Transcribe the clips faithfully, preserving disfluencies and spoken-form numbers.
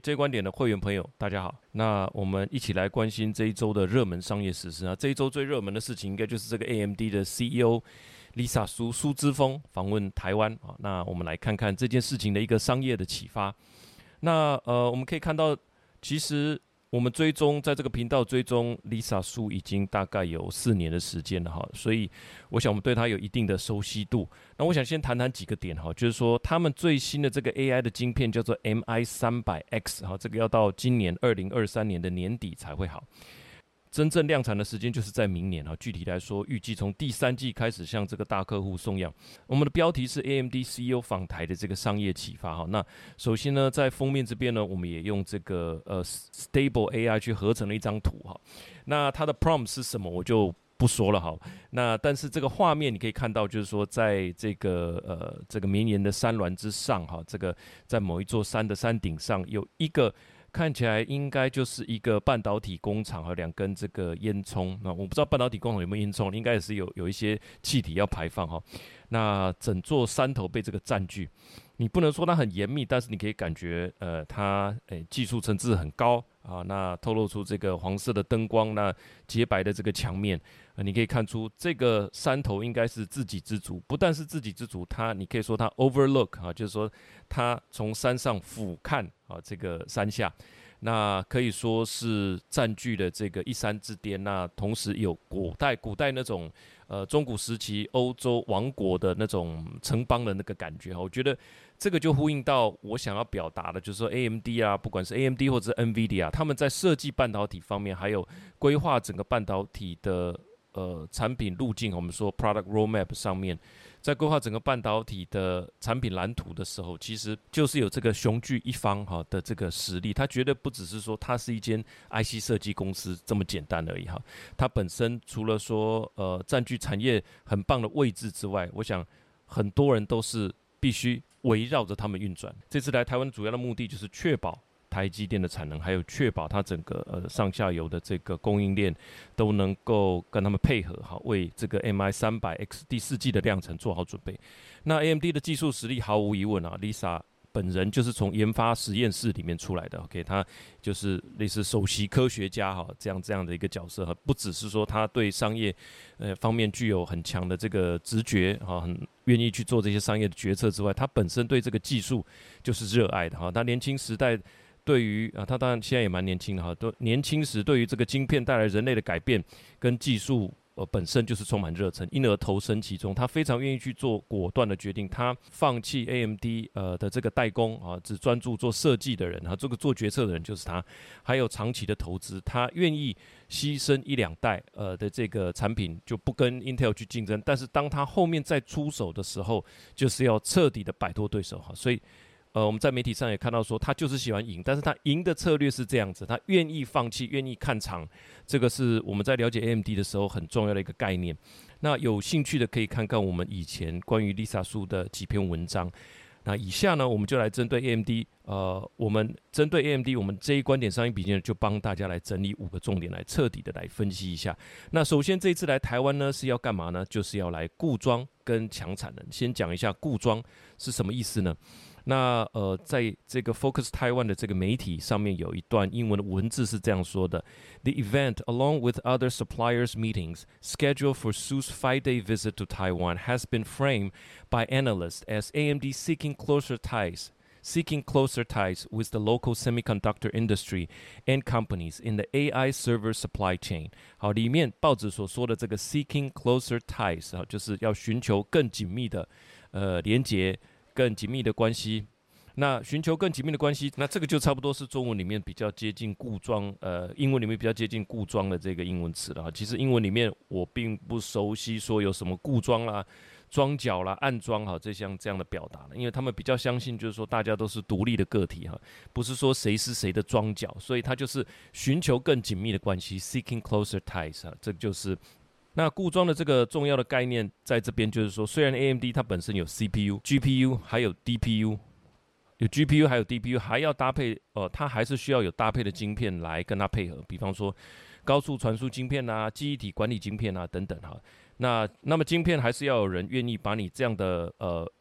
这一观点的会员朋友，大家好。那我们一起来关心这一周的热门商业时事啊。这一周最热门的事情，应该就是这个 A M D 的 C E O Lisa Su 苏之峰访问台湾啊。那我们来看看这件事情的一个商业的启发。那呃，我们可以看到，其实我们追踪在这个频道追踪 Lisa Su 已经大概有四年的时间了哈，所以我想我们对她有一定的熟悉度。那我想先谈谈几个点哈，就是说他们最新的这个 A I 的晶片叫做 M I 三百 X 哈，这个要到今年二零二三年的年底才会好。真正量产的时间就是在明年啊，具体来说，预计从第三季开始向这个大客户送样。我们的标题是 A M D C E O 访台的这个商业启发哈。那首先呢，在封面这边呢，我们也用这个呃 Stable A I 去合成了一张图哈。那它的 prompt 是什么，我就不说了哈。那但是这个画面你可以看到，就是说在这个呃这个绵延的山峦之上哈，这个在某一座山的山顶上有一个。看起来应该就是一个半导体工厂和两根这个烟囱。那我不知道半导体工厂有没有烟囱，应该也是有有一些气体要排放哈。那整座山头被这个占据，你不能说它很严密，但是你可以感觉呃它诶技术层次很高啊。那透露出这个黄色的灯光，那洁白的这个墙面，呃，你可以看出这个山头应该是自给自足。不但是自给自足，它你可以说它 overlook 啊，就是说它从山上俯瞰。啊，这个山下，那可以说是占据了这个一山之巅。那同时有古代古代那种呃中古时期欧洲王国的那种城邦的那个感觉。我觉得这个就呼应到我想要表达的，就是说 A M D 啊，不管是 A M D 或者是 NVIDIA， 他们在设计半导体方面，还有规划整个半导体的呃产品路径，我们说 product roadmap 上面。在规划整个半导体的产品蓝图的时候，其实就是有这个雄踞一方哈的这个实力。它绝对不只是说它是一间 I C 设计公司这么简单而已哈。它本身除了说呃占据产业很棒的位置之外，我想很多人都是必须围绕着他们运转。这次来台湾主要的目的就是确保台积电的产能，还有确保它整个呃上下游的这个供应链都能够跟他们配合，好为这个 M I 三百 X 第四季的量产做好准备。那 A M D 的技术实力毫无疑问啊 ，Lisa 本人就是从研发实验室里面出来的 ，OK， 他就是类似首席科学家哈，这样这样的一个角色，不只是说他对商业呃方面具有很强的这个直觉哈，很愿意去做这些商业的决策之外，他本身对这个技术就是热爱的哈，他年轻时代。对于啊，他当然现在也蛮年轻的哈，都年轻时对于这个晶片带来人类的改变跟技术呃本身就是充满热忱，因而投身其中。他非常愿意去做果断的决定，他放弃 A M D 呃的这个代工啊，只专注做设计的人啊，这个做决策的人就是他，还有长期的投资，他愿意牺牲一两代呃的这个产品，就不跟 Intel 去竞争，但是当他后面再出手的时候，就是要彻底的摆脱对手哈，所以。呃，我们在媒体上也看到说，他就是喜欢赢，但是他赢的策略是这样子，他愿意放弃，愿意看场，这个是我们在了解 A M D 的时候很重要的一个概念。那有兴趣的可以看看我们以前关于 Lisa Su 的几篇文章。那以下呢，我们就来针对 A M D， 呃，我们针对 A M D， 我们这一观点商业笔记呢，就帮大家来整理五个重点，来彻底的来分析一下。那首先这一次来台湾呢，是要干嘛呢？就是要来固装跟抢产能。先讲一下固装是什么意思呢？那呃，在这个 Focus Taiwan 的这个媒体上面有一段英文的文字是这样说的 ：The event, along with other suppliers' meetings scheduled for Su's five-day visit to Taiwan, has been framed by analysts as A M D seeking closer ties. Seeking closer ties with the local semiconductor industry and companies in the A I server supply chain。好，里面报纸所说的这个 seeking closer ties 啊，就是要寻求更紧密的呃连结。更紧密的关系，那寻求更紧密的关系，那这个就差不多是中文里面比较接近固装，呃，英文里面比较接近固装的这个英文词了。其实英文里面我并不熟悉说有什么固装啦、装脚啦、暗装哈这项这样的表达了，因为他们比较相信就是说大家都是独立的个体哈，不是说谁是谁的装脚，所以他就是寻求更紧密的关系 ，seeking closer ties 啊，这就是。那固装的这个重要的概念在这边就是说，虽然 A M D 它本身有 C P U、G P U 还有 D P U， 有 G P U 还有 D P U， 还要搭配呃，它还是需要有搭配的晶片来跟它配合，比方说高速传输晶片啊、记忆体管理晶片啊等等哈。那那么晶片还是要有人愿意把你这样的呃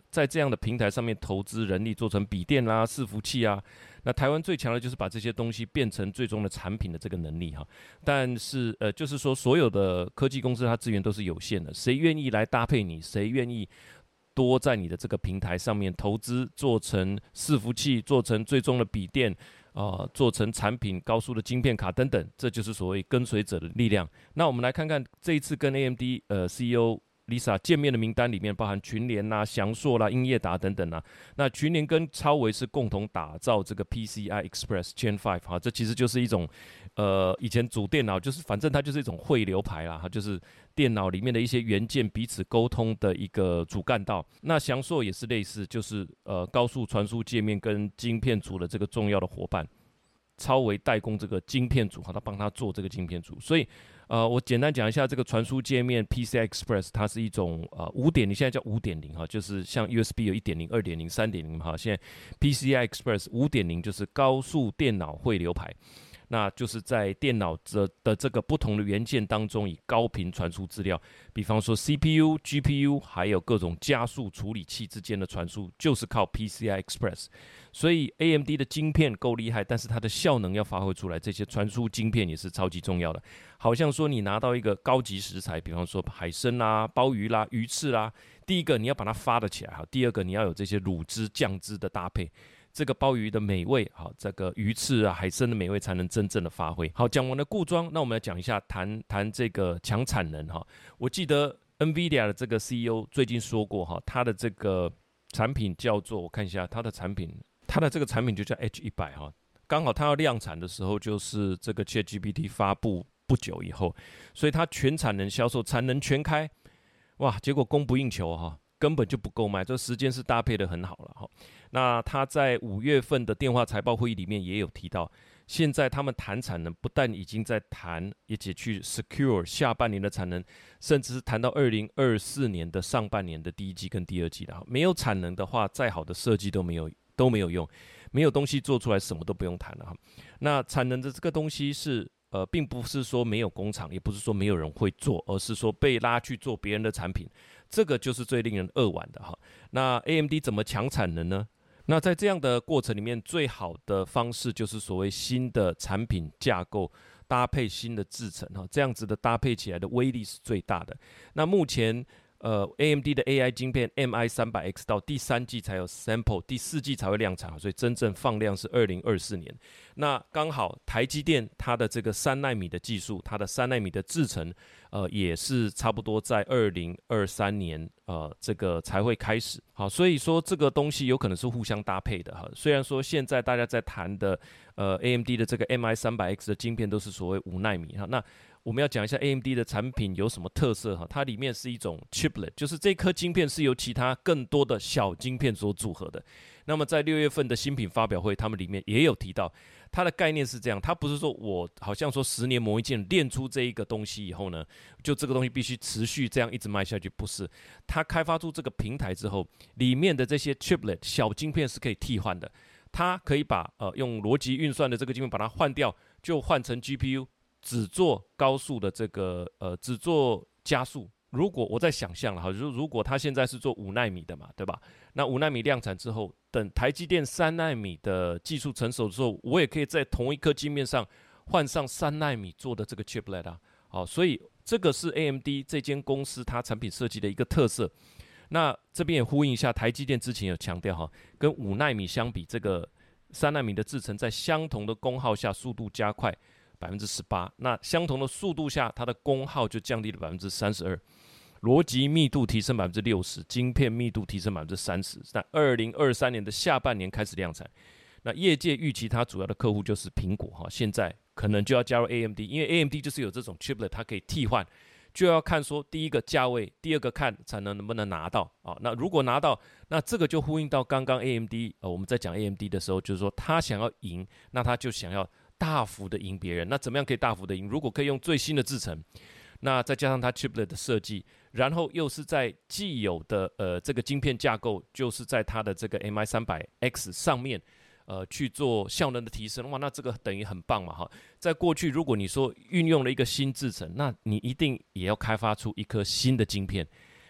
在这样的平台上面投资人力，做成笔电啦、伺服器啊。那台湾最强的就是把这些东西变成最终的产品的这个能力哈。但是呃，就是说所有的科技公司它资源都是有限的，谁愿意来搭配你，谁愿意多在你的这个平台上面投资，做成伺服器，做成最终的笔电。啊、呃，做成产品、高速的晶片卡等等，这就是所谓跟随者的力量。那我们来看看这一次跟 A M D 呃 C E O Lisa 见面的名单里面，包含群联啦、祥硕啦、英业达等等啦。那群联跟超微是共同打造这个 P C I Express Gen 五哈，这其实就是一种呃以前组电脑就是反正它就是一种汇流排啦，它就是电脑里面的一些元件彼此沟通的一个主干道。那祥硕也是类似，就是呃高速传输界面跟晶片组的这个重要的伙伴。超微代工这个晶片组，他帮他做这个晶片组，所以，呃，我简单讲一下这个传输界面 P C I Express， 它是一种呃五点零，现在叫五点零哈，就是像 U S B 有一点零、二点零、三点零哈，现在 P C I Express 五点零就是高速电脑汇流排。那就是在电脑的这个不同的元件当中，以高频传输资料，比方说 C P U、G P U， 还有各种加速处理器之间的传输，就是靠 P C I Express。所以 A M D 的晶片够厉害，但是它的效能要发挥出来，这些传输晶片也是超级重要的。好像说你拿到一个高级食材，比方说海参啦、鲍鱼啦、鱼翅啦，第一个你要把它发得起来，第二个你要有这些卤汁、酱汁的搭配。这个鲍鱼的美味，好，这个鱼翅啊、海参的美味才能真正的发挥。好，讲完了固装，那我们来讲一下谈谈这个强产能哈。我记得 NVIDIA 的这个 C E O 最近说过哈，他的这个产品叫做，我看一下他的产品，他的这个产品就叫 H 一百 哈。刚好他要量产的时候，就是这个 ChatGPT 发布不久以后，所以他全产能销售，产能全开，哇，结果供不应求哈。根本就不够卖，这时间是搭配的很好了哈。那他在五月份的电话财报会议里面也有提到，现在他们谈产能，不但已经在谈，也且去 secure 下半年的产能，甚至是谈到二零二四年的上半年的第一季跟第二季的。没有产能的话，再好的设计都没有都没有用，没有东西做出来，什么都不用谈了哈。那产能的这个东西是。呃，并不是说没有工厂，也不是说没有人会做，而是说被拉去做别人的产品，这个就是最令人扼腕的哈。那 A M D 怎么抢产能呢？那在这样的过程里面，最好的方式就是所谓新的产品架构搭配新的制程哈，这样子的搭配起来的威力是最大的。那目前。呃 ，A M D 的 A I 晶片 M I 三百 X 到第三季才有 sample， 第四季才会量产，所以真正放量是二零二四年。那刚好台积电它的这个三奈米的技术，它的三奈米的制程，呃，也是差不多在二零二三年，呃，这个才会开始。好，所以说这个东西有可能是互相搭配的哈。虽然说现在大家在谈的，呃 ，A M D 的这个 M I 三百 X 的晶片都是所谓五奈米哈，那。我们要讲一下 A M D 的产品有什么特色哈？它里面是一种 chiplet， 就是这颗晶片是由其他更多的小晶片所组合的。那么在六月份的新品发表会，他们里面也有提到，它的概念是这样，它不是说我好像说十年磨一剑，练出这一个东西以后呢，就这个东西必须持续这样一直卖下去，不是。它开发出这个平台之后，里面的这些 chiplet 小晶片是可以替换的，它可以把呃用逻辑运算的这个晶片把它换掉，就换成 G P U。只做高速的这个呃，只做加速。如果我在想象了哈，如如果他现在是做五奈米的嘛，对吧？那五奈米量产之后，等台积电三奈米的技术成熟之后，我也可以在同一颗晶片上换上三奈米做的这个 chiplet 啊。好，所以这个是 A M D 这间公司它产品设计的一个特色。那这边也呼应一下，台积电之前有强调哈，跟五奈米相比，这个三奈米的制程在相同的功耗下，速度加快。百分之十八，那相同的速度下，它的功耗就降低了百分之三十二，逻辑密度提升百分之六十，晶片密度提升百分之三十。在二零二三年的下半年开始量产，那业界预期它主要的客户就是苹果哈，现在可能就要加入 A M D， 因为 A M D 就是有这种 chiplet， 它可以替换，就要看说第一个价位，第二个看产能能不能拿到啊。那如果拿到，那这个就呼应到刚刚 A M D， 呃，我们在讲 A M D 的时候，就是说他想要赢，那他就想要。大幅的赢别人，那怎么样可以大幅的赢？如果可以用最新的制程，那再加上它 chiplet 的设计，然后又是在既有的呃这个晶片架构，就是在它的这个 M I 三百 X 上面，呃去做效能的提升，哇，那这个等于很棒嘛哈。在过去，如果你说运用了一个新制程，那你一定也要开发出一颗新的晶片。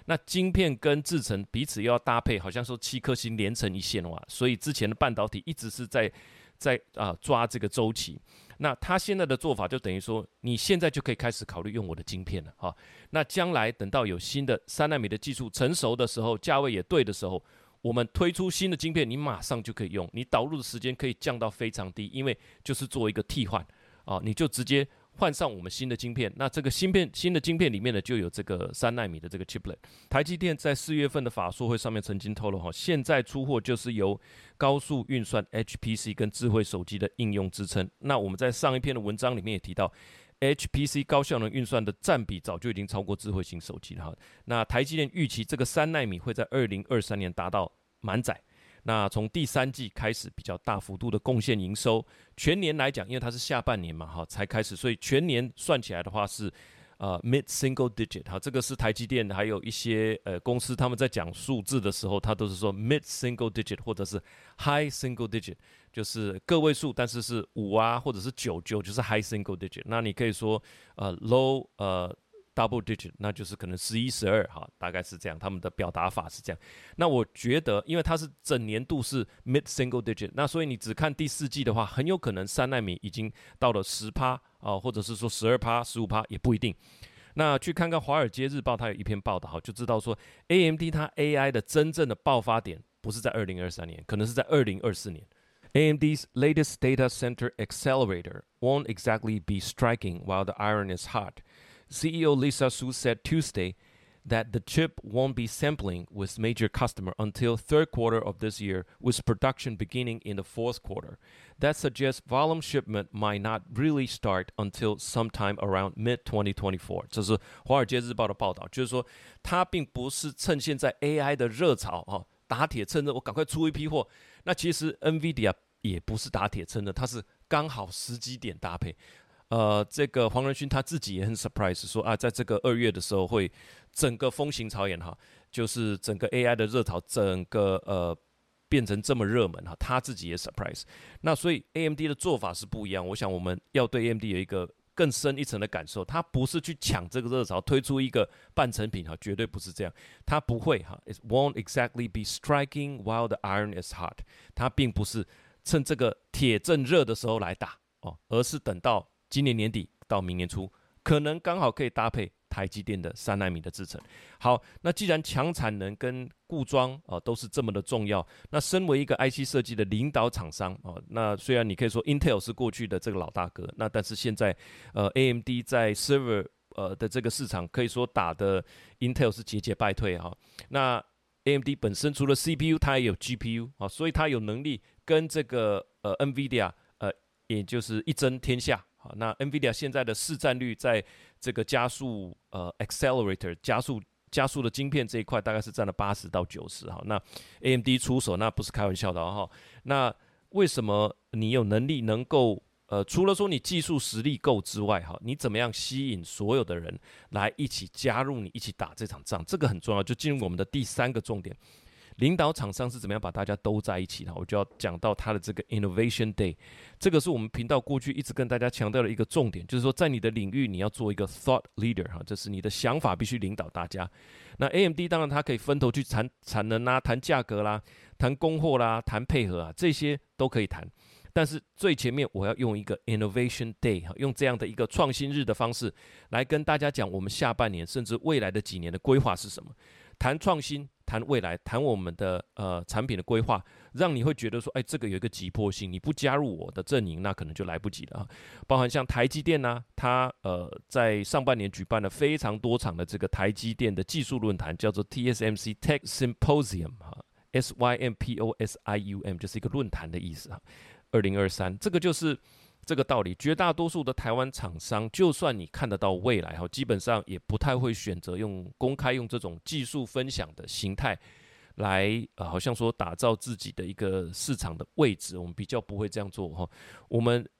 那晶片跟制程彼此又要搭配，好像说七颗星连成一线哇，所以之前的半导体一直是在在啊、呃、抓这个周期。那他现在的做法就等于说，你现在就可以开始考虑用我的晶片了哈。那将来等到有新的三奈米的技术成熟的时候，价位也对的时候，我们推出新的晶片，你马上就可以用，你导入的时间可以降到非常低，因为就是做一个替换啊，你就直接换上我们新的晶片。那这个芯片新的晶片里面呢，就有这个三奈米的这个 chiplet。台积电在四月份的法说会上面曾经透露哈，现在出货就是由高速运算 H P C 跟智慧手机的应用支撑。那我们在上一篇的文章里面也提到。H P C 高效能运算的占比早就已经超过智慧型手机了哈。那台积电预期这个三奈米会在二零二三年达到满载。那从第三季开始比较大幅度的贡献营收，全年来讲，因为它是下半年嘛哈才开始，所以全年算起来的话是呃 mid single digit 哈，这个是台积电还有一些呃公司他们在讲数字的时候，它都是说 mid single digit 或者是 high single digit， 就是个位数，但是是五啊或者是九九就是 high single digit。那你可以说呃 low 呃。double digit， 那就是可能十一、十二，哈，大概是这样，他们的表达法是这样。那我觉得，因为它是整年度是 mid single digit， 那所以你只看第四季的话，很有可能三奈米已经到了十趴啊，或者是说十二趴、十五趴也不一定。那去看看《华尔街日报》，它有一篇报道，就知道说 A M D 它 A I 的真正的爆发点不是在二零二三年，可能是在二零二四年。A M D's latest data center accelerator won't exactly be striking while the iron is hot.C E O Lisa Su said Tuesday that the chip won't be sampling with major customer until third quarter of this year, with production beginning in the fourth quarter. That suggests volume shipment might not really start until sometime around mid twenty twenty-four. 这是华尔街日报的报道，就是说它并不是趁现在 A I 的热潮哈，打铁趁热，我赶快出一批货。那其实 NVIDIA 也不是打铁趁热，它是刚好时机点搭配。呃，这个黄仁勋他自己也很 surprise， 说啊，在这个二月的时候会整个风行草偃哈，就是整个 A I 的热潮，整个呃变成这么热门哈，他自己也 surprise。那所以 A M D 的做法是不一样，我想我们要对 A M D 有一个更深一层的感受，它不是去抢这个热潮，推出一个半成品哈，绝对不是这样，它不会哈 ，it won't exactly be striking while the iron is hot， 它并不是趁这个铁正热的时候来打哦，而是等到今年年底到明年初，可能刚好可以搭配台积电的三奈米的制程。好，那既然强产能跟固装啊、呃、都是这么的重要，那身为一个 I C 设计的领导厂商啊、呃，那虽然你可以说 Intel 是过去的这个老大哥，那但是现在呃 A M D 在 server 呃的这个市场可以说打的 Intel 是节节败退哈、啊。那 A M D 本身除了 C P U， 它也有 G P U 啊，所以它有能力跟这个呃 NVIDIA 呃也就是一争天下。好，那 NVIDIA 现在的市占率在这个加速呃 accelerator 加速加速的晶片这一块，大概是占了八十到九十。好，那 A M D 出手那不是开玩笑的哈、哦。那为什么你有能力能够呃，除了说你技术实力够之外，哈，你怎么样吸引所有的人来一起加入你一起打这场仗？这个很重要，就进入我们的第三个重点。领导厂商是怎么样把大家都在一起的？我就要讲到他的这个 Innovation Day， 这个是我们频道过去一直跟大家强调的一个重点，就是说在你的领域你要做一个 Thought Leader 哈，这是你的想法必须领导大家。那 A M D 当然它可以分头去谈产能啦、谈价格啦、谈供货啦、谈配合啊，这些都可以谈。但是最前面我要用一个 Innovation Day， 用这样的一个创新日的方式来跟大家讲我们下半年甚至未来的几年的规划是什么。谈创新，谈未来，谈我们的呃产品的规划，让你会觉得说，哎，这个有一个急迫性，你不加入我的阵营，那可能就来不及了啊。包含像台积电呢、啊，它呃在上半年举办了非常多场的这个台积电的技术论坛，叫做 T S M C Tech Symposium 哈 ，S Y M P O S I U M 就是一个论坛的意思啊。二零二三，这个就是这个道理。绝大多数的台湾厂商，就算你看得到未来，基本上也不太会选择用公开用这种技术分享的形态来，呃，好像说打造自己的一个市场的位置。我们比较不会这样做哈。我们呃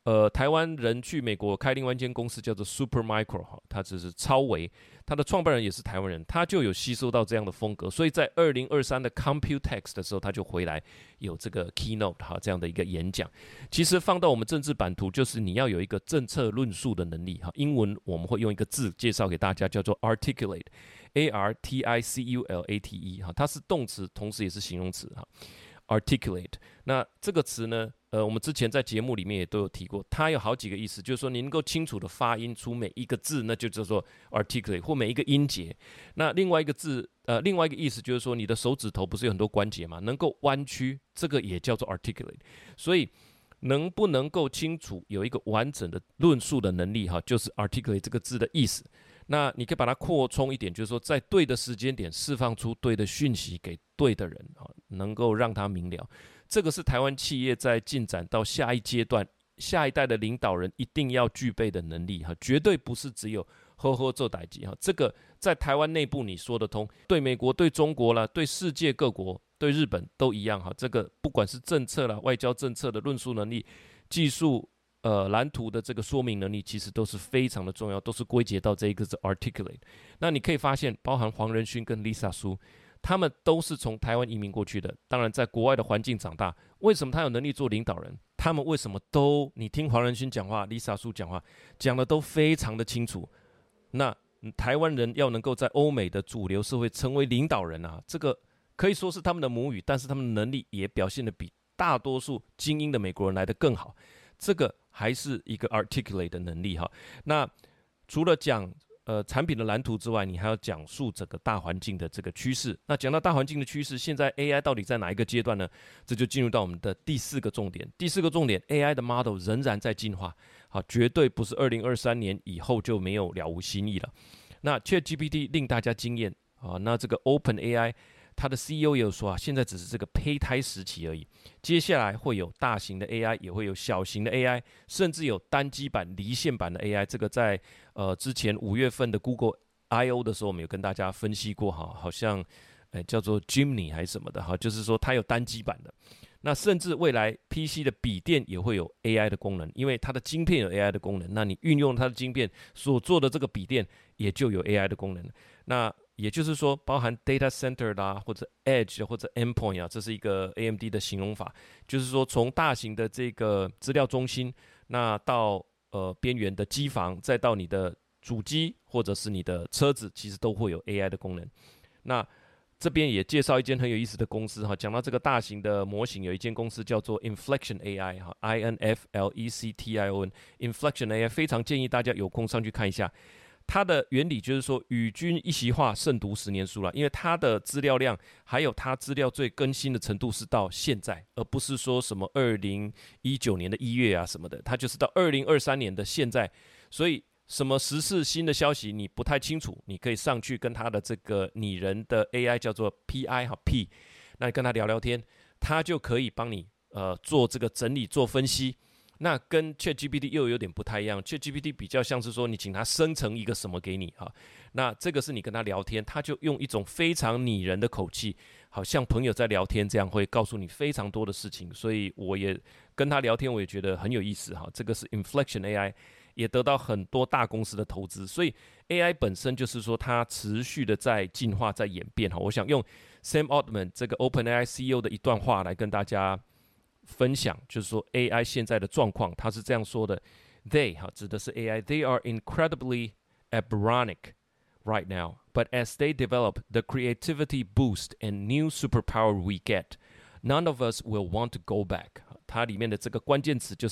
呃，台湾人去美国开另外一间公司叫做 Supermicro 哈，它只是超微，它的创办人也是台湾人，他就有吸收到这样的风格，所以在二零二三的 Computex 的时候，他就回来有这个 keynote 哈这样的一个演讲。其实放到我们政治版图，就是你要有一个政策论述的能力哈。英文我们会用一个字介绍给大家，叫做 articulate，A R T I C U L A T E 哈，它是动词，同时也是形容词哈。articulate， 那这个词呢，呃，我们之前在节目里面也都有提过，它有好几个意思，就是说你能够清楚的发音出每一个字，那就叫做 articulate， 或每一个音节。那另外一个字，呃，另外一个意思就是说，你的手指头不是有很多关节嘛，能够弯曲，这个也叫做 articulate。所以能不能够清楚有一个完整的论述的能力，哈，就是 articulate 这个字的意思。那你可以把它扩充一点，就是说在对的时间点释放出对的讯息给对的人，能够让他明了。这个是台湾企业在进展到下一阶段，下一代的领导人一定要具备的能力，绝对不是只有呵呵做代志。这个在台湾内部你说得通，对美国、对中国啦、对世界各国、对日本都一样。这个不管是政策啦、外交政策的论述能力、技术呃，蓝图的这个说明能力其实都是非常的重要，都是归结到这一个是 articulate。那你可以发现，包含黄仁勋跟 Lisa Su， 他们都是从台湾移民过去的，当然在国外的环境长大。为什么他有能力做领导人？他们为什么都，你听黄仁勋讲话 ，Lisa Su 讲话，讲的都非常的清楚。那台湾人要能够在欧美的主流社会成为领导人啊，这个可以说是他们的母语，但是他们的能力也表现的比大多数精英的美国人来得更好。这个还是一个 articulate 的能力哈。那除了讲呃产品的蓝图之外，你还要讲述整个大环境的这个趋势。那讲到大环境的趋势，现在 A I 到底在哪一个阶段呢？这就进入到我们的第四个重点。第四个重点 ，A I 的 model 仍然在进化，好，绝对不是二零二三年以后就没有了无新意了。那 ChatGPT 令大家惊艳啊，那这个 OpenAI。他的 C E O 也有说啊，现在只是这个胚胎时期而已，接下来会有大型的 A I， 也会有小型的 A I， 甚至有单机版、离线版的 A I。这个在呃之前五月份的 Google I O 的时候，我们有跟大家分析过哈，好像呃叫做 Gemini 还是什么的哈，就是说它有单机版的。那甚至未来 P C 的笔电也会有 A I 的功能，因为它的晶片有 A I 的功能，那你运用它的晶片所做的这个笔电也就有 A I 的功能。那也就是说，包含 data center 啦，或者 edge 或者 endpoint 啊，这是一个 A M D 的形容法，就是说从大型的这个资料中心，那到呃边缘的机房，再到你的主机或者是你的车子，其实都会有 A I 的功能。那这边也介绍一间很有意思的公司哈，讲到这个大型的模型，有一间公司叫做 Inflection A I 哈 ，I N F L E C T I O N，Inflection A I 非常建议大家有空上去看一下。它的原理就是说，与君一席话，胜读十年书了。因为它的资料量，还有它资料最更新的程度是到现在，而不是说什么二零一九年的一月啊什么的，它就是到二零二三年的现在。所以什么时事新的消息你不太清楚，你可以上去跟它的这个拟人的 A I 叫做 P I 哈 P， 那你跟他聊聊天，它就可以帮你呃做这个整理做分析。那跟 ChatGPT 又有点不太一样 ，ChatGPT 比较像是说你请它生成一个什么给你哈，那这个是你跟他聊天，他就用一种非常拟人的口气，好像朋友在聊天这样，会告诉你非常多的事情，所以我也跟他聊天，我也觉得很有意思哈。这个是 Inflection A I， 也得到很多大公司的投资，所以 A I 本身就是说它持续的在进化、在演变哈。我想用 Sam Altman 这个 OpenAI C E O 的一段话来跟大家分享，就是说 A I 现在的状况，他是这样说的 ：They 哈指的是 A I，They are incredibly embryonic right now, but as they develop, the creativity boost and new superpower we get, none of us will want to go back。它里面的这个关键词就是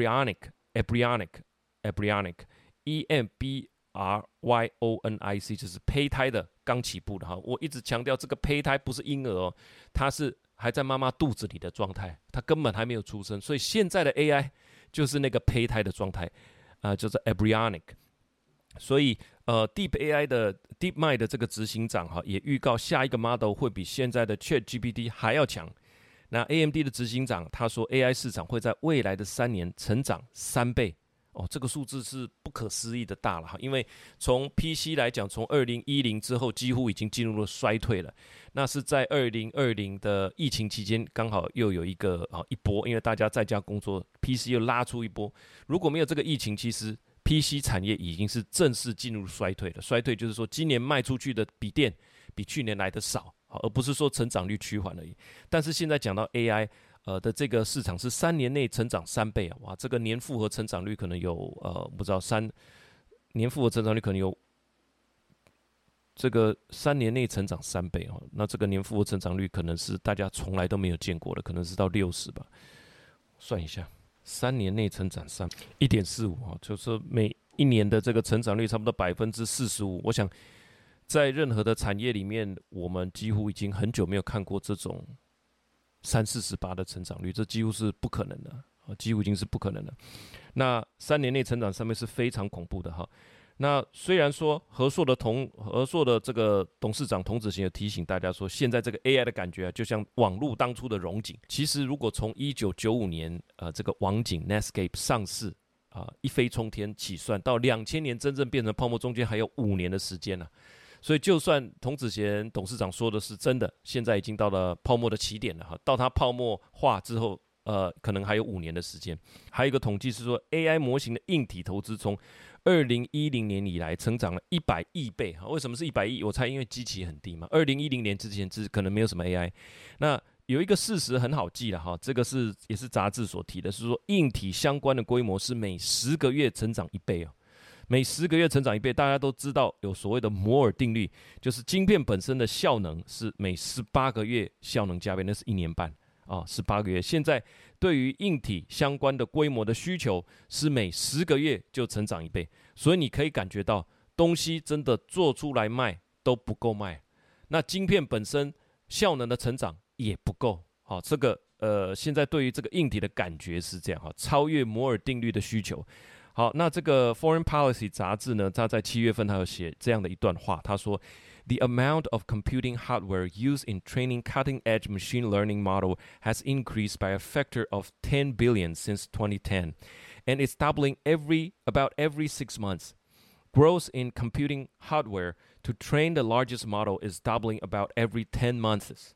embryonic，embryonic，embryonic，E M B R Y O N I C， 就是胚胎的刚起步的哈。我一直强调这个胚胎不是婴儿哦，它是还在妈妈肚子里的状态，它根本还没有出生，所以现在的 A I 就是那个胚胎的状态，啊、呃，就是 embryonic。所以，呃 ，Deep A I 的 DeepMind 的这个执行长哈，也预告下一个 model 会比现在的 ChatGPT 还要强。那 A M D 的执行长他说 ，A I 市场会在未来的三年成长三倍。 哦，这个数字是不可思议的大了哈，因为从 P C 来讲，从二零一零之后几乎已经进入了衰退了。那是在二零二零的疫情期间，刚好又有一个啊一波，因为大家在家工作 ，P C 又拉出一波。如果没有这个疫情，其实 P C 产业已经是正式进入衰退了。衰退就是说，今年卖出去的笔电比去年来的少，而不是说成长率趋缓而已。但是现在讲到 A I。呃的这个市场是三年内成长三倍啊，哇，这个年复合成长率可能有呃不知道三年复合成长率可能有这个三年内成长三倍哦，那这个年复合成长率可能是大家从来都没有见过的，可能是到六十吧，算一下，三年内成长三一点四五啊，就是每一年的这个成长率差不多百分之四十五，我想在任何的产业里面，我们几乎已经很久没有看过这种。三四十八的成长率，这几乎是不可能的，几乎已经是不可能的。那三年内成长三倍是非常恐怖的哈。那虽然说和硕的同和硕的这个董事长童子贤也提醒大家说，现在这个 A I 的感觉啊，就像网络当初的荣景。其实如果从一九九五年呃这个网景 Netscape 上市啊、呃、一飞冲天起算，到两千年真正变成泡沫，中间还有五年的时间呢、啊。所以，就算童子贤董事长说的是真的，现在已经到了泡沫的起点了哈。到它泡沫化之后，呃，可能还有五年的时间。还有一个统计是说 ，A I 模型的硬体投资从二零一零年以来成长了一百亿倍哈。为什么是一百亿？我猜因为基期很低嘛。二零一零年之前是可能没有什么 A I。那有一个事实很好记了哈，这个是也是杂志所提的，是说硬体相关的规模是每十个月成长一倍哦。每十个月成长一倍，大家都知道有所谓的摩尔定律，就是晶片本身的效能是每十八个月效能加倍，那是一年半啊，十八个月。现在对于硬体相关的规模的需求是每十个月就成长一倍，所以你可以感觉到东西真的做出来卖都不够卖，那晶片本身效能的成长也不够。好，这个呃，现在对于这个硬体的感觉是这样哈，超越摩尔定律的需求。好，那这个 Foreign Policy 杂志呢，它在七月份它有写这样的一段话，他说 ：“The amount of computing hardware used in training cutting-edge machine learning model has increased by a factor of ten billion since twenty ten, and it's doubling every about every six months. Growth in computing hardware to train the largest model is doubling about every ten months.”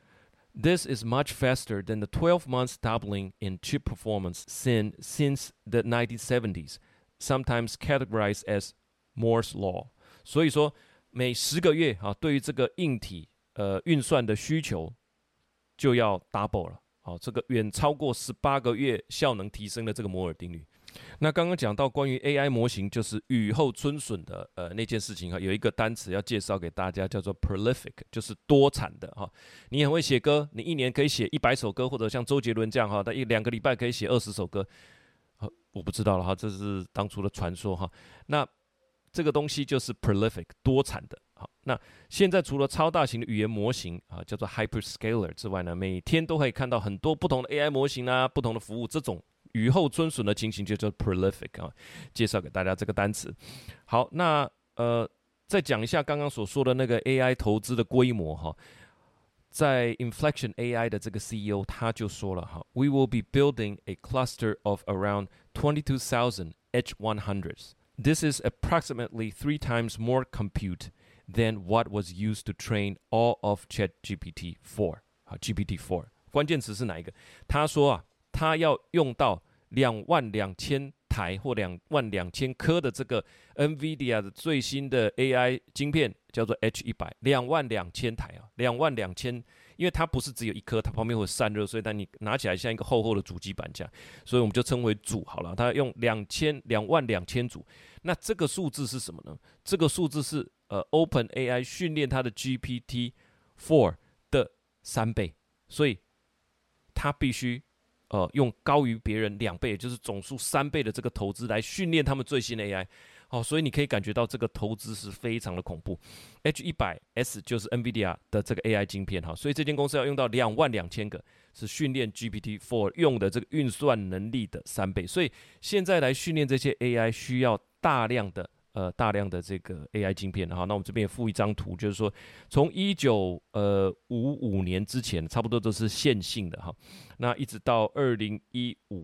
This is much faster than the twelve months doubling in chip performance since, since the nineteen seventies, sometimes categorized as Moore's Law. 所以说，每十个月啊，对于这个硬体呃运算的需求就要 double 了。好，这个远超过十八个月效能提升的这个摩尔定律。那刚刚讲到关于 A I 模型，就是雨后春笋的呃那件事情哈，有一个单词要介绍给大家，叫做 prolific， 就是多产的哈。你很会写歌，你一年可以写一百首歌，或者像周杰伦这样哈，他一两个礼拜可以写二十首歌。好，我不知道了哈，这是当初的传说哈。那这个东西就是 prolific 多产的。好，那现在除了超大型的语言模型啊，叫做 hyperscaler 之外呢，每天都可以看到很多不同的 A I 模型啊，不同的服务，这种雨后春笋的情形就叫 prolific 啊。介绍给大家这个单词。好，那呃，再讲一下刚刚所说的那个 A I 投资的规模哈。在 Inflection A I 的这个 C E O 他就说了哈 ，We will be building a cluster of around twenty-two thousand H one hundreds. This is approximately three times more compute than what was used to train all of ChatGPT four. 好 ，G P T four 关键词是哪一个？他说啊，他要用到两万两千台或两万两千颗的这个 NVIDIA 的最新的 A I 晶片，叫做 H 一百，两万两千台啊，两万两千，因为它不是只有一颗，它旁边会散热，所以当你拿起来像一个厚厚的主机板这样，所以我们就称为组好了。它用两千两万两千组，那这个数字是什么呢？这个数字是呃 OpenAI 训练它的 G P T four 的三倍，所以它必须。呃，用高于别人两倍，也就是总数三倍的这个投资来训练他们最新的 A I， 好、哦，所以你可以感觉到这个投资是非常的恐怖。H 一百 S 就是 NVIDIA 的这个 A I 晶片哈，所以这间公司要用到两万两千个，是训练 G P T four 用的这个运算能力的三倍。所以现在来训练这些 A I 需要大量的。呃，大量的这个 A I 晶片，哈，那我们这边也附一张图，就是说，从一九呃五五年之前，差不多都是线性的哈，那一直到二零一五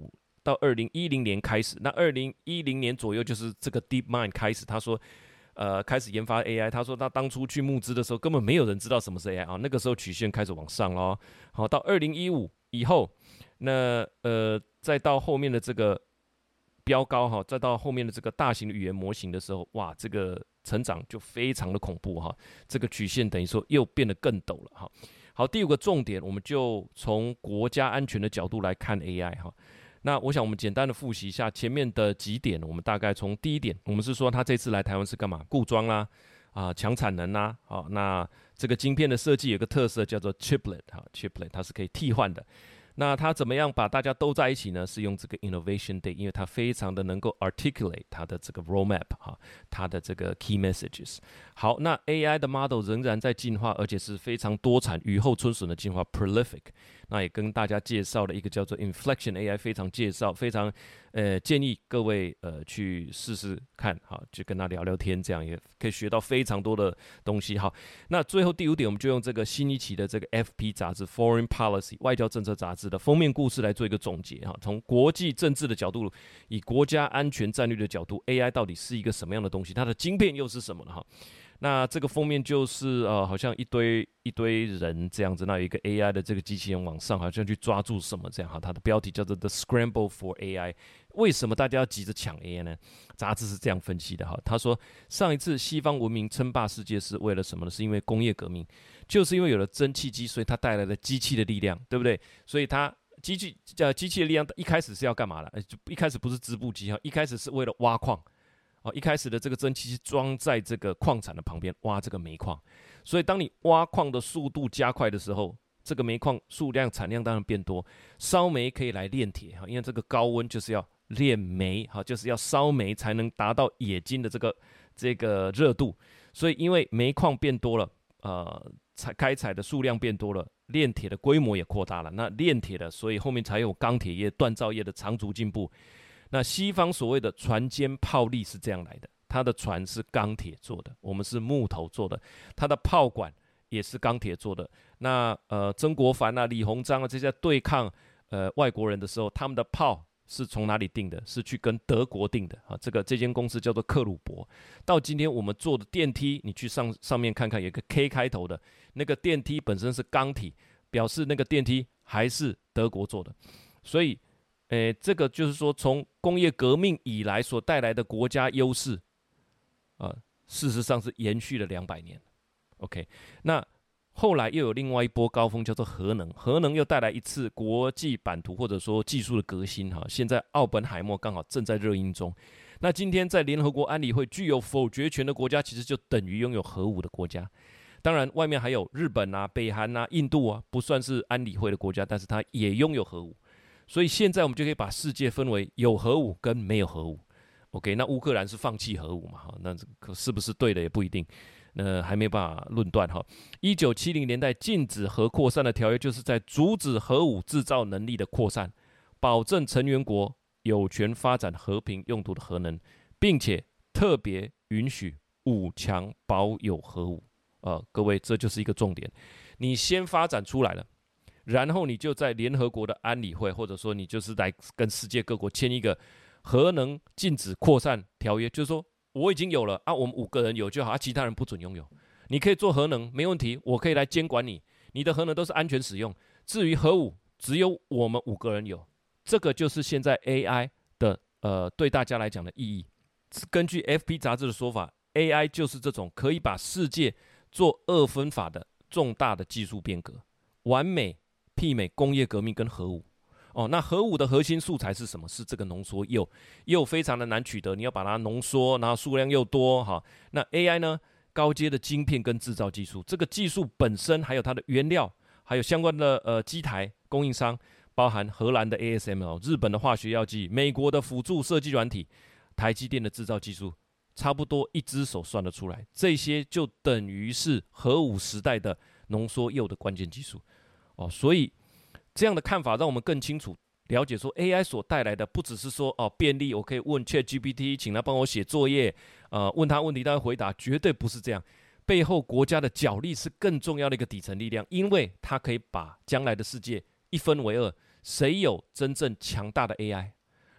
到二零一零年开始，那二零一零年左右就是这个 DeepMind 开始，他说。呃，开始研发 A I， 他说他当初去募资的时候，根本没有人知道什么是 A I 啊。那个时候曲线开始往上咯。好，到二零一五以后，那呃，再到后面的这个飙高哈，再到后面的这个大型的语言模型的时候，哇，这个成长就非常的恐怖哈。这个曲线等于说又变得更陡了哈。好，第五个重点，我们就从国家安全的角度来看 A I 哈。那我想我们简单的复习一下前面的几点，我们大概从第一点，我们是说他这次来台湾是干嘛？固装啦，啊，强产能啦，好，那这个晶片的设计有个特色叫做 chiplet 哈 ，chiplet 它是可以替换的。那它怎么样把大家都在一起呢？是用这个 Innovation Day， 因为它非常的能够 articulate 它的这个 roadmap 哈，它的这个 key messages。好，那 A I 的 model 仍然在进化，而且是非常多产、雨后春笋的进化 prolific。那也跟大家介绍了一个叫做 Inflection A I， 非常介绍，非常呃建议各位呃去试试看，好，就跟他聊聊天，这样也可以学到非常多的东西。好，那最后第五点，我们就用这个新一期的这个 F P 杂志 Foreign Policy 外交政策杂志的封面故事来做一个总结哈。从国际政治的角度，以国家安全战略的角度 ，A I 到底是一个什么样的东西？它的晶片又是什么呢？哈。那这个封面就是呃，好像一堆一堆人这样子，那有一个 A I 的这个机器人往上，好像去抓住什么这样哈。它的标题叫做 The Scramble for A I。为什么大家要急着抢 A I 呢？杂志是这样分析的哈。他说，上一次西方文明称霸世界是为了什么呢？是因为工业革命，就是因为有了蒸汽机，所以它带来了机器的力量，对不对？所以它机器呃机器的力量一开始是要干嘛的？就一开始不是织布机哈，一开始是为了挖矿。哦，一开始的这个蒸汽机装在这个矿产的旁边挖这个煤矿，所以当你挖矿的速度加快的时候，这个煤矿数量产量当然变多，烧煤可以来炼铁哈，因为这个高温就是要炼煤哈，就是要烧煤才能达到冶金的这个这个热度，所以因为煤矿变多了，呃，采开采的数量变多了，炼铁的规模也扩大了，那炼铁的，所以后面才有钢铁业、锻造业的长足进步。那西方所谓的船坚炮利是这样来的，它的船是钢铁做的，我们是木头做的，它的炮管也是钢铁做的。那呃，曾国藩啊、李鸿章啊这些对抗呃外国人的时候，他们的炮是从哪里订的？是去跟德国订的啊。这个这间公司叫做克虏伯。到今天我们做的电梯，你去上上面看看，有一个 K 开头的那个电梯本身是钢体，表示那个电梯还是德国做的，所以。诶，这个就是说，从工业革命以来所带来的国家优势，啊、呃，事实上是延续了两百年。OK， 那后来又有另外一波高峰，叫做核能，核能又带来一次国际版图或者说技术的革新哈。现在奥本海默刚好正在热映中。那今天在联合国安理会具有否决权的国家，其实就等于拥有核武的国家。当然，外面还有日本啊、北韩啊、印度啊，不算是安理会的国家，但是它也拥有核武。所以现在我们就可以把世界分为有核武跟没有核武。OK， 那乌克兰是放弃核武嘛？哈，那可是不是对的也不一定，那还没办法论断哈。一九七零年代禁止核扩散的条约，就是在阻止核武制造能力的扩散，保证成员国有权发展和平用途的核能，并且特别允许五强保有核武。呃，各位，这就是一个重点，你先发展出来了。然后你就在联合国的安理会，或者说你就是来跟世界各国签一个核能禁止扩散条约，就是说我已经有了啊，我们五个人有就好，啊，其他人不准拥有。你可以做核能没问题，我可以来监管你，你的核能都是安全使用。至于核武，只有我们五个人有，这个就是现在 A I 的呃对大家来讲的意义。根据 F P 杂志的说法 ，A I 就是这种可以把世界做二分法的重大的技术变革，完美。媲美工业革命跟核武哦，那核武的核心素材是什么？是这个浓缩铀，铀非常的难取得，你要把它浓缩，然后数量又多哈。那 A I 呢？高阶的晶片跟制造技术，这个技术本身还有它的原料，还有相关的呃机台供应商，包含荷兰的 A S M L、日本的化学药剂、美国的辅助设计软体、台积电的制造技术，差不多一只手算得出来，这些就等于是核武时代的浓缩铀的关键技术。哦，所以这样的看法让我们更清楚了解说 A I 所带来的不只是说哦便利，我可以问 ChatGPT， 请他帮我写作业，呃，问他问题他会回答，绝对不是这样。背后国家的角力是更重要的一个底层力量，因为它可以把将来的世界一分为二，谁有真正强大的 A I，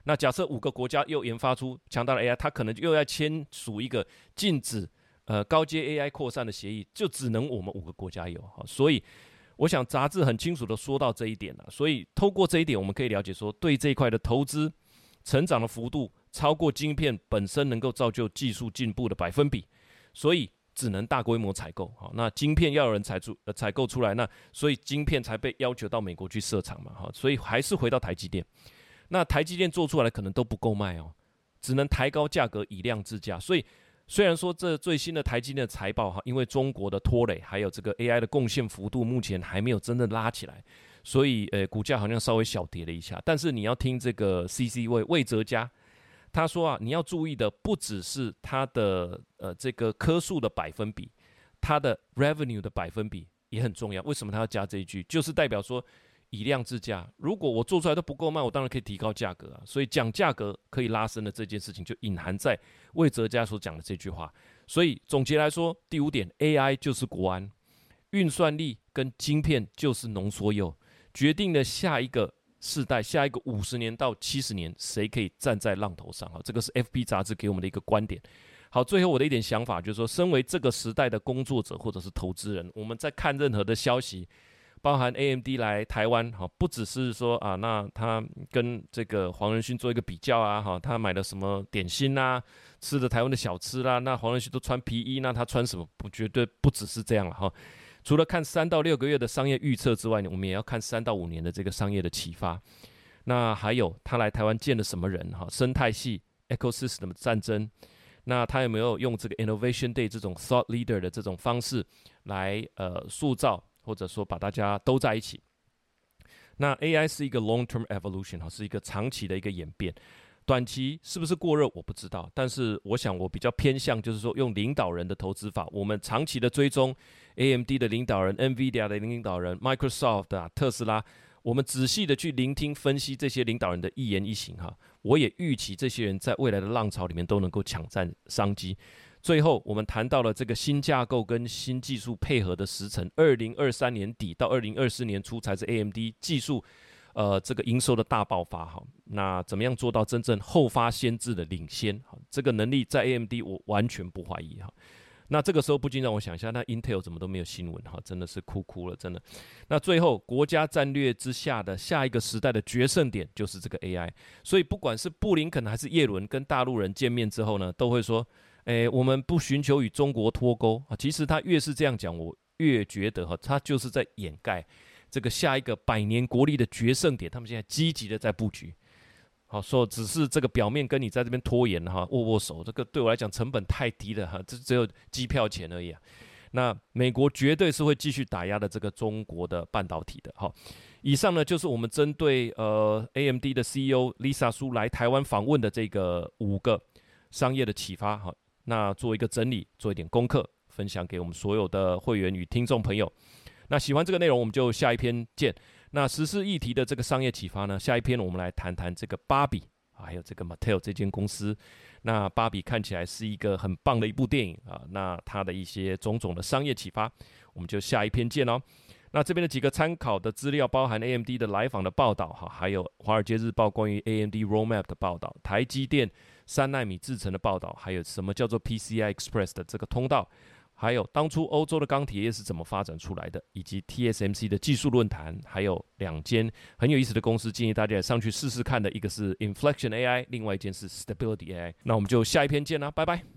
那假设五个国家又研发出强大的 A I， 它可能又要签署一个禁止呃高阶 A I 扩散的协议，就只能我们五个国家有。所以我想杂志很清楚的说到这一点了。所以透过这一点，我们可以了解说，对这一块的投资成长的幅度超过晶片本身能够造就技术进步的百分比，所以只能大规模采购。好，那晶片要有人采出呃采购出来，那所以晶片才被要求到美国去设厂嘛。好，所以还是回到台积电。那台积电做出来的可能都不够卖哦，只能抬高价格以量制价。所以虽然说这最新的台积电的财报哈，因为中国的拖累，还有这个 A I 的贡献幅度目前还没有真的拉起来，所以呃股价好像稍微小跌了一下。但是你要听这个 C C 魏魏哲嘉，他说啊，你要注意的不只是它的呃这个棵数的百分比，它的 revenue 的百分比也很重要。为什么他要加这一句？就是代表说以量制价，如果我做出来都不够卖，我当然可以提高价格啊。所以讲价格可以拉升的这件事情，就隐含在魏哲嘉所讲的这句话。所以总结来说，第五点 ，A I 就是国安，运算力跟晶片就是浓缩铀，决定了下一个世代，下一个五十年到七十年，谁可以站在浪头上。这个是 F P 杂志给我们的一个观点。好，最后我的一点想法就是说，身为这个时代的工作者或者是投资人，我们在看任何的消息，包含 A M D 来台湾，不只是说啊，那他跟这个黄仁勋做一个比较啊，他买了什么点心啊，吃的台湾的小吃啦，那黄仁勋都穿皮衣，那他穿什么？不，绝对不只是这样了哈。除了看三到六个月的商业预测之外，我们也要看三到五年的这个商业的启发。那还有他来台湾见了什么人？哈，生态系 ecosystem 的战争。那他有没有用这个 Innovation Day 这种 thought leader 的这种方式来呃塑造，或者说把大家都在一起？那 A I 是一个 long-term evolution， 是一个长期的一个演变。短期是不是过热我不知道，但是我想我比较偏向就是说用领导人的投资法，我们长期的追踪 A M D 的领导人、NVIDIA 的领导人、Microsoft 啊、特斯拉，我们仔细的去聆听分析这些领导人的一言一行哈，我也预期这些人在未来的浪潮里面都能够抢占商机。最后我们谈到了这个新架构跟新技术配合的时程，二零二三年底到二零二四年初才是 A M D 技术呃，这个营收的大爆发哈，那怎么样做到真正后发先至的领先？这个能力在 A M D 我完全不怀疑哈。那这个时候不禁让我想一下，那 Intel 怎么都没有新闻哈，真的是哭哭了，真的。那最后国家战略之下的下一个时代的决胜点就是这个 A I， 所以不管是布林肯还是耶伦跟大陆人见面之后呢，都会说，诶，我们不寻求与中国脱钩啊。其实他越是这样讲，我越觉得哈，他就是在掩盖这个下一个百年国力的决胜点，他们现在积极的在布局。好，说只是这个表面跟你在这边拖延哈，握握手，这个对我来讲成本太低了哈，这只有机票钱而已啊。那美国绝对是会继续打压的这个中国的半导体的。好，以上呢就是我们针对呃 A M D 的 C E O Lisa Su 来台湾访问的这个五个商业的启发。好，那做一个整理，做一点功课，分享给我们所有的会员与听众朋友。那喜欢这个内容，我们就下一篇见。那时事议题的这个商业启发呢，下一篇我们来谈谈这个芭比，还有这个 Mattel 这间公司。那芭比看起来是一个很棒的一部电影啊，那它的一些种种的商业启发，我们就下一篇见哦。那这边的几个参考的资料包含 A M D 的来访的报道哈，还有华尔街日报关于 A M D roadmap 的报道，台积电三奈米制程的报道，还有什么叫做 P C I Express 的这个通道。还有当初欧洲的钢铁业是怎么发展出来的，以及 T S M C 的技术论坛，还有两间很有意思的公司，建议大家上去试试看的，一个是 Inflection A I， 另外一间是 Stability A I。那我们就下一篇见啦，拜拜。